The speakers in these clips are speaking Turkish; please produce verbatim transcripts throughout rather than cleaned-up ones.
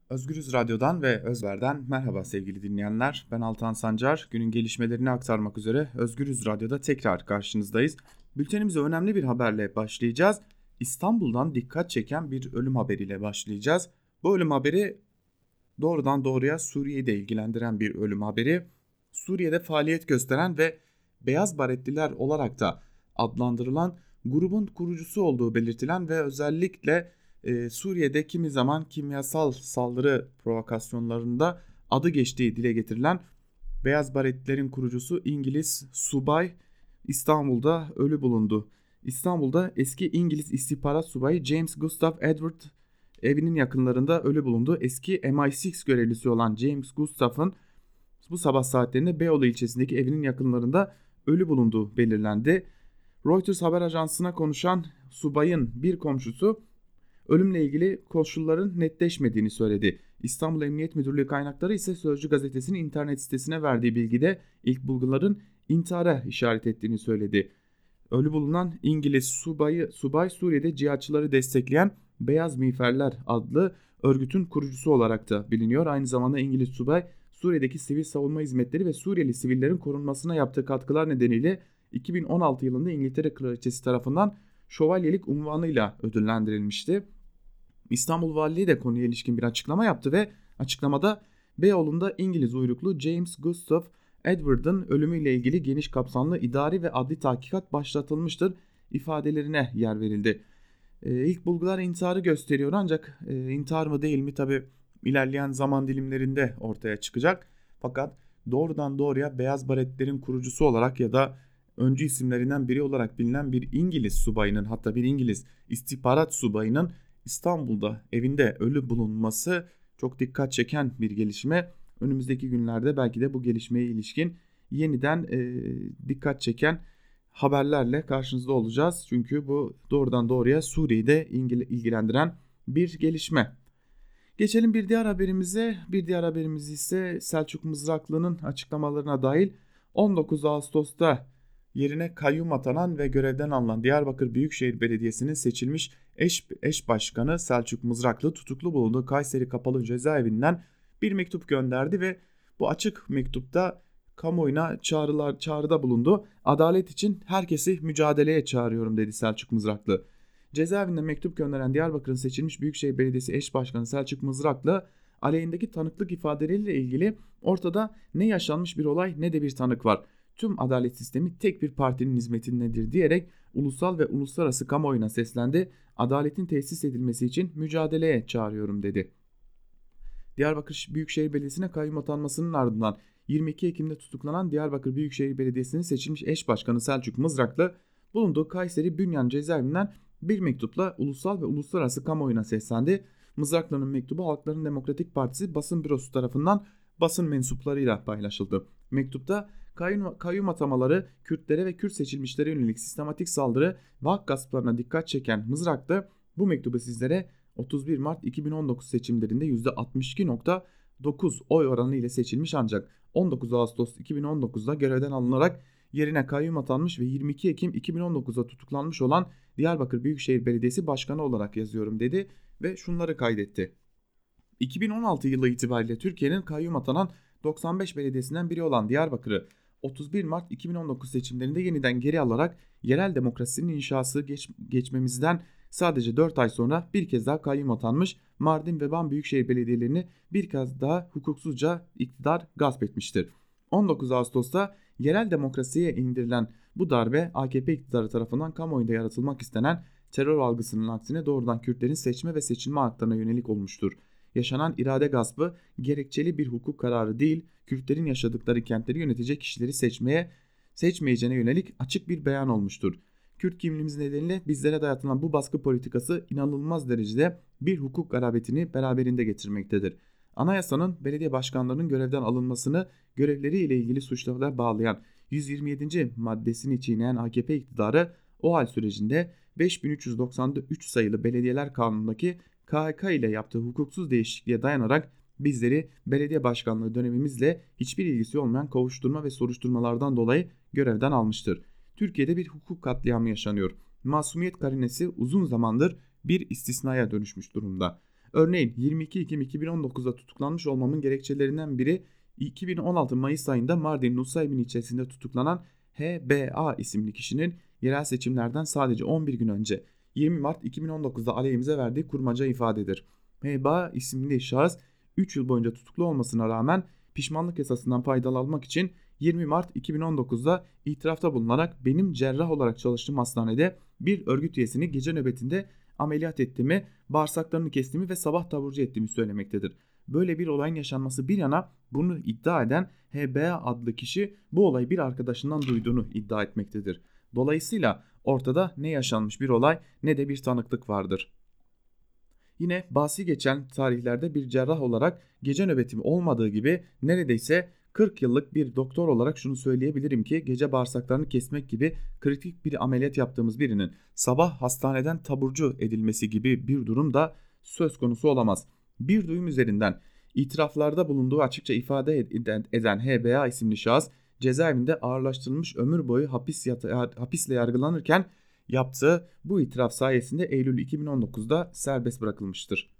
Özgürüz Radyo'dan ve Özver'den merhaba sevgili dinleyenler. Ben Altan Sancar. Günün gelişmelerini aktarmak üzere Özgürüz Radyo'da tekrar karşınızdayız. Bültenimize önemli bir haberle başlayacağız. İstanbul'dan dikkat çeken bir ölüm haberiyle başlayacağız. Bu ölüm haberi doğrudan doğruya Suriye'yi de ilgilendiren bir ölüm haberi. Suriye'de faaliyet gösteren ve Beyaz Baretliler olarak da adlandırılan grubun kurucusu olduğu belirtilen ve özellikle Ee, Suriye'de kimi zaman kimyasal saldırı provokasyonlarında adı geçtiği dile getirilen Beyaz Baretlilerin kurucusu İngiliz subay İstanbul'da ölü bulundu. İstanbul'da eski İngiliz istihbarat subayı James Gustav Edward evinin yakınlarında ölü bulundu. Eski M I altı görevlisi olan James Gustav'ın bu sabah saatlerinde Beyoğlu ilçesindeki evinin yakınlarında ölü bulunduğu belirlendi. Reuters haber ajansına konuşan subayın bir komşusu ölümle ilgili koşulların netleşmediğini söyledi. İstanbul Emniyet Müdürlüğü kaynakları ise Sözcü gazetesinin internet sitesine verdiği bilgide ilk bulguların intihara işaret ettiğini söyledi. Ölü bulunan İngiliz subayı, subay Suriye'de cihatçıları destekleyen Beyaz Miğferler adlı örgütün kurucusu olarak da biliniyor. Aynı zamanda İngiliz subay Suriye'deki sivil savunma hizmetleri ve Suriyeli sivillerin korunmasına yaptığı katkılar nedeniyle iki bin on altı yılında İngiltere Kraliçesi tarafından şövalyelik unvanıyla ödüllendirilmişti. İstanbul Valiliği de konuya ilişkin bir açıklama yaptı ve açıklamada Beyoğlu'nda İngiliz uyruklu James Gustav Edward'ın ölümüyle ilgili geniş kapsamlı idari ve adli tahkikat başlatılmıştır ifadelerine yer verildi. Ee, ilk bulgular intiharı gösteriyor ancak e, intihar mı değil mi tabi ilerleyen zaman dilimlerinde ortaya çıkacak. Fakat doğrudan doğruya Beyaz Baretlerin kurucusu olarak ya da öncü isimlerinden biri olarak bilinen bir İngiliz subayının, hatta bir İngiliz istihbarat subayının İstanbul'da evinde ölü bulunması çok dikkat çeken bir gelişme. Önümüzdeki günlerde belki de bu gelişmeye ilişkin yeniden e, dikkat çeken haberlerle karşınızda olacağız. Çünkü bu doğrudan doğruya Suriye'de ilgilendiren bir gelişme. Geçelim bir diğer haberimize. Bir diğer haberimiz ise Selçuk Mızraklı'nın açıklamalarına dahil on dokuz Ağustos'ta yerine kayyum atanan ve görevden alınan Diyarbakır Büyükşehir Belediyesi'nin seçilmiş eş, eş başkanı Selçuk Mızraklı tutuklu bulunduğu Kayseri Kapalı Cezaevinden bir mektup gönderdi ve bu açık mektupta kamuoyuna çağrılar çağrıda bulundu. Adalet için herkesi mücadeleye çağırıyorum dedi Selçuk Mızraklı. Cezaevinden mektup gönderen Diyarbakır'ın seçilmiş Büyükşehir Belediyesi eş başkanı Selçuk Mızraklı aleyhindeki tanıklık ifadeleriyle ilgili ortada ne yaşanmış bir olay ne de bir tanık var. Tüm adalet sistemi tek bir partinin hizmetindedir diyerek ulusal ve uluslararası kamuoyuna seslendi. Adaletin tesis edilmesi için mücadeleye çağırıyorum dedi. Diyarbakır Büyükşehir Belediyesi'ne kayyum atanmasının ardından yirmi iki Ekim'de tutuklanan Diyarbakır Büyükşehir Belediyesi'nin seçilmiş eş başkanı Selçuk Mızraklı bulunduğu Kayseri Bünyan cezaevinden bir mektupla ulusal ve uluslararası kamuoyuna seslendi. Mızraklı'nın mektubu Halkların Demokratik Partisi basın bürosu tarafından basın mensuplarıyla paylaşıldı. Mektupta kayyum, kayyum atamaları, Kürtlere ve Kürt seçilmişlere yönelik sistematik saldırı ve hak gasplarına dikkat çeken Mızraklı bu mektubu sizlere otuz bir Mart iki bin on dokuz seçimlerinde yüzde altmış iki nokta dokuz oy oranı ile seçilmiş ancak on dokuz Ağustos iki bin on dokuzda görevden alınarak yerine kayyum atanmış ve yirmi iki Ekim iki bin on dokuzda tutuklanmış olan Diyarbakır Büyükşehir Belediyesi Başkanı olarak yazıyorum dedi ve şunları kaydetti. iki bin on altı yılı itibariyle Türkiye'nin kayyum atanan doksan beş belediyesinden biri olan Diyarbakır'ı otuz bir Mart iki bin on dokuz seçimlerinde yeniden geri alarak yerel demokrasinin inşası geç, geçmemizden sadece dört ay sonra bir kez daha kayyum atanmış Mardin ve Van Büyükşehir Belediyelerini bir kez daha hukuksuzca iktidar gasp etmiştir. on dokuz Ağustos'ta yerel demokrasiye indirilen bu darbe A K P iktidarı tarafından kamuoyunda yaratılmak istenen terör algısının aksine doğrudan Kürtlerin seçme ve seçilme haklarına yönelik olmuştur. Yaşanan irade gaspı gerekçeli bir hukuk kararı değil, Kürtlerin yaşadıkları kentleri yönetecek kişileri seçmeye, seçmeyeceğine yönelik açık bir beyan olmuştur. Kürt kimliğimiz nedeniyle bizlere dayatılan bu baskı politikası inanılmaz derecede bir hukuk garabetini beraberinde getirmektedir. Anayasanın belediye başkanlarının görevden alınmasını görevleriyle ilgili suçlamalar bağlayan yüz yirmi yedinci maddesini çiğneyen A K P iktidarı o hal sürecinde beş bin üç yüz doksan üç sayılı Belediyeler Kanunu'ndaki K H K ile yaptığı hukuksuz değişikliğe dayanarak bizleri belediye başkanlığı dönemimizle hiçbir ilgisi olmayan kovuşturma ve soruşturmalardan dolayı görevden almıştır. Türkiye'de bir hukuk katliamı yaşanıyor. Masumiyet karinesi uzun zamandır bir istisnaya dönüşmüş durumda. Örneğin yirmi iki Ekim iki bin on dokuzda tutuklanmış olmamın gerekçelerinden biri iki bin on altı Mayıs ayında Mardin Nusaybin ilçesinde tutuklanan H B A isimli kişinin yerel seçimlerden sadece on bir gün önce yirmi Mart iki bin on dokuzda aleyhimize verdiği kurmaca ifadedir. H B A isimli şahıs üç yıl boyunca tutuklu olmasına rağmen pişmanlık yasasından faydalanmak için yirmi Mart iki bin on dokuzda itirafta bulunarak benim cerrah olarak çalıştığım hastanede bir örgüt üyesini gece nöbetinde ameliyat ettiğimi, bağırsaklarını kestiğimi ve sabah taburcu ettiğimi söylemektedir. Böyle bir olayın yaşanması bir yana bunu iddia eden H B A adlı kişi bu olayı bir arkadaşından duyduğunu iddia etmektedir. Dolayısıyla ortada ne yaşanmış bir olay ne de bir tanıklık vardır. Yine bahsi geçen tarihlerde bir cerrah olarak gece nöbetim olmadığı gibi neredeyse kırk yıllık bir doktor olarak şunu söyleyebilirim ki gece bağırsaklarını kesmek gibi kritik bir ameliyat yaptığımız birinin sabah hastaneden taburcu edilmesi gibi bir durum da söz konusu olamaz. Bir duyum üzerinden itiraflarda bulunduğu açıkça ifade eden H B A isimli şahıs cezaevinde ağırlaştırılmış ömür boyu hapis hapisle yargılanırken yaptığı bu itiraf sayesinde Eylül iki bin on dokuzda serbest bırakılmıştır.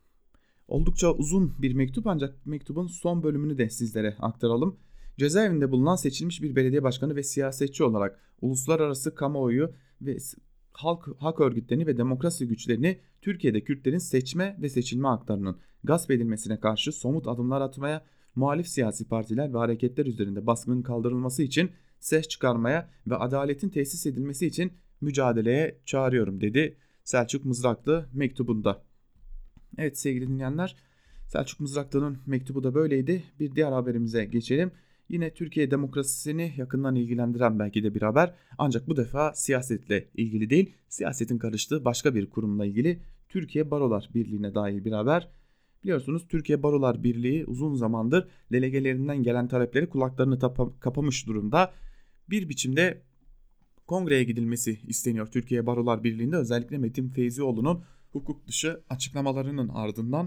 Oldukça uzun bir mektup ancak mektubun son bölümünü de sizlere aktaralım. Cezaevinde bulunan seçilmiş bir belediye başkanı ve siyasetçi olarak uluslararası kamuoyu ve halk hak örgütlerini ve demokrasi güçlerini Türkiye'de Kürtlerin seçme ve seçilme haklarının gasp edilmesine karşı somut adımlar atmaya, muhalif siyasi partiler ve hareketler üzerinde baskının kaldırılması için ses çıkarmaya ve adaletin tesis edilmesi için mücadeleye çağırıyorum dedi Selçuk Mızraklı mektubunda. Evet sevgili dinleyenler, Selçuk Mızraklı'nın mektubu da böyleydi. Bir diğer haberimize geçelim. Yine Türkiye demokrasisini yakından ilgilendiren belki de bir haber. Ancak bu defa siyasetle ilgili değil, siyasetin karıştığı başka bir kurumla ilgili Türkiye Barolar Birliği'ne dair bir haber. Biliyorsunuz Türkiye Barolar Birliği uzun zamandır delegelerinden gelen talepleri kulaklarını tapa- kapamış durumda. Bir biçimde kongreye gidilmesi isteniyor Türkiye Barolar Birliği'nde, özellikle Metin Feyzioğlu'nun hukuk dışı açıklamalarının ardından.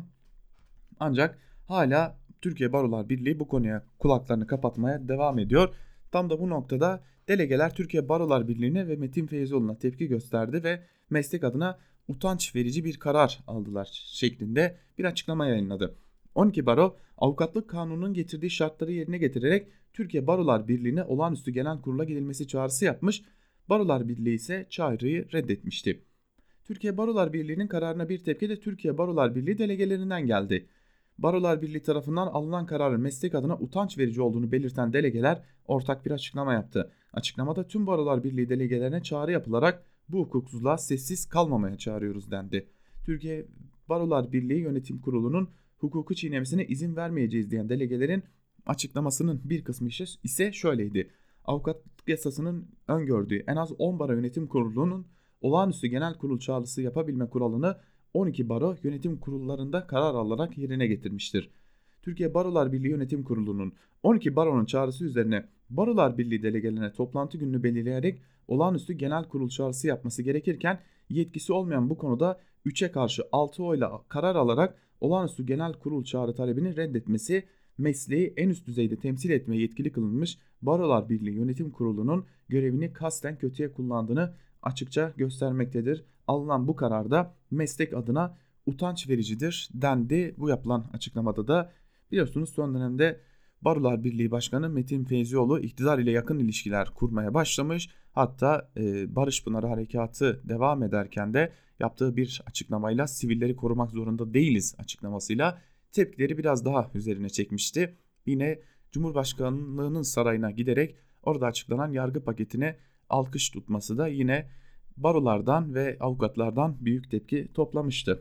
Ancak hala Türkiye Barolar Birliği bu konuya kulaklarını kapatmaya devam ediyor. Tam da bu noktada delegeler Türkiye Barolar Birliği'ne ve Metin Feyzioğlu'na tepki gösterdi ve meslek adına utanç verici bir karar aldılar şeklinde bir açıklama yayınladı. on iki baro avukatlık kanununun getirdiği şartları yerine getirerek Türkiye Barolar Birliği'ne olağanüstü genel kurula gidilmesi çağrısı yapmış. Barolar Birliği ise çağrıyı reddetmişti. Türkiye Barolar Birliği'nin kararına bir tepki de Türkiye Barolar Birliği delegelerinden geldi. Barolar Birliği tarafından alınan kararın meslek adına utanç verici olduğunu belirten delegeler ortak bir açıklama yaptı. Açıklamada tüm Barolar Birliği delegelerine çağrı yapılarak bu hukuksuzluğa sessiz kalmamaya çağırıyoruz dendi. Türkiye Barolar Birliği Yönetim Kurulu'nun hukuku çiğnemesine izin vermeyeceğiz diyen delegelerin açıklamasının bir kısmı ise şöyleydi. Avukatlık yasasının öngördüğü en az on baro yönetim kurulunun olağanüstü genel kurul çağrısı yapabilme kuralını on iki baro yönetim kurullarında karar alarak yerine getirmiştir. Türkiye Barolar Birliği Yönetim Kurulu'nun on iki baronun çağrısı üzerine Barolar Birliği delegelerine toplantı gününü belirleyerek olağanüstü genel kurul çağrısı yapması gerekirken yetkisi olmayan bu konuda üçe karşı altı oyla karar alarak olağanüstü genel kurul çağrı talebini reddetmesi mesleği en üst düzeyde temsil etmeye yetkili kılınmış Barolar Birliği Yönetim Kurulu'nun görevini kasten kötüye kullandığını açıkça göstermektedir. Alınan bu kararda meslek adına utanç vericidir dendi. Bu yapılan açıklamada da biliyorsunuz son dönemde Barolar Birliği Başkanı Metin Feyzioğlu iktidar ile yakın ilişkiler kurmaya başlamış. Hatta e, Barış Pınarı Harekatı devam ederken de yaptığı bir açıklamayla sivilleri korumak zorunda değiliz açıklamasıyla tepkileri biraz daha üzerine çekmişti. Yine Cumhurbaşkanlığının sarayına giderek orada açıklanan yargı paketine alkış tutması da yine barolardan ve avukatlardan büyük tepki toplamıştı.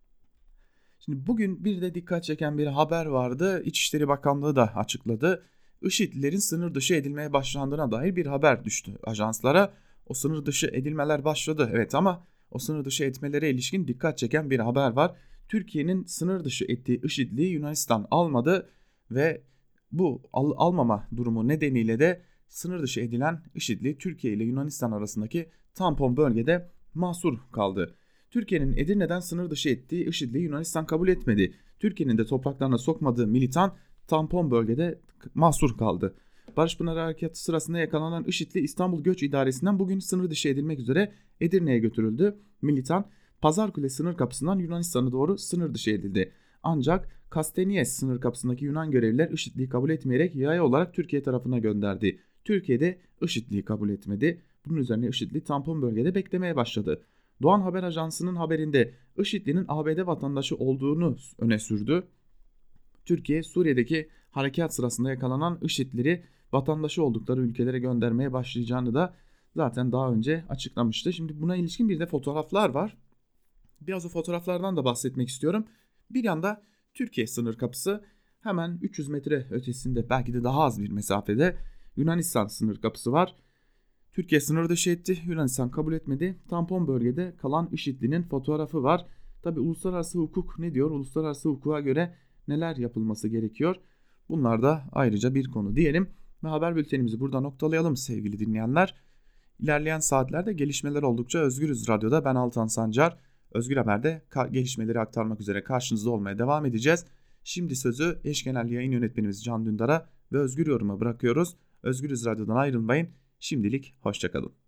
Şimdi bugün bir de dikkat çeken bir haber vardı. İçişleri Bakanlığı da açıkladı. IŞİD'lilerin sınır dışı edilmeye başlandığına dair bir haber düştü ajanslara. O sınır dışı edilmeler başladı evet, ama o sınır dışı etmelere ilişkin dikkat çeken bir haber var. Türkiye'nin sınır dışı ettiği IŞİD'liyi Yunanistan almadı ve bu al- almama durumu nedeniyle de sınır dışı edilen IŞİD'li Türkiye ile Yunanistan arasındaki tampon bölgede mahsur kaldı. Türkiye'nin Edirne'den sınır dışı ettiği IŞİD'li Yunanistan kabul etmedi. Türkiye'nin de topraklarına sokmadığı militan tampon bölgede mahsur kaldı. Barış Pınarı Harekatı sırasında yakalanan IŞİD'li İstanbul Göç İdaresi'nden bugün sınır dışı edilmek üzere Edirne'ye götürüldü. Militan Pazarkule sınır kapısından Yunanistan'a doğru sınır dışı edildi. Ancak Kastenies sınır kapısındaki Yunan görevliler IŞİD'liği kabul etmeyerek yaya olarak Türkiye tarafına gönderdi. Türkiye de IŞİD'liği kabul etmedi. Bunun üzerine IŞİD'li tampon bölgede beklemeye başladı. Doğan Haber Ajansı'nın haberinde IŞİD'linin A B D vatandaşı olduğunu öne sürdü. Türkiye, Suriye'deki harekat sırasında yakalanan IŞİD'lileri vatandaşı oldukları ülkelere göndermeye başlayacağını da zaten daha önce açıklamıştı. Şimdi buna ilişkin bir de fotoğraflar var. Biraz o fotoğraflardan da bahsetmek istiyorum. Bir yanda Türkiye sınır kapısı, hemen üç yüz metre ötesinde, belki de daha az bir mesafede Yunanistan sınır kapısı var. Türkiye sınır dışı etti, Yunanistan kabul etmedi. Tampon bölgede kalan IŞİD'linin fotoğrafı var. Tabi uluslararası hukuk ne diyor? Uluslararası hukuka göre neler yapılması gerekiyor? Bunlar da ayrıca bir konu diyelim ve haber bültenimizi burada noktalayalım sevgili dinleyenler. İlerleyen saatlerde gelişmeler oldukça Özgürüz Radyo'da ben Altan Sancar, Özgür Haber'de gelişmeleri aktarmak üzere karşınızda olmaya devam edeceğiz. Şimdi sözü eş genel yayın yönetmenimiz Can Dündar'a ve Özgür Yorum'a bırakıyoruz. Özgürüz Radyo'dan ayrılmayın. Şimdilik hoşçakalın.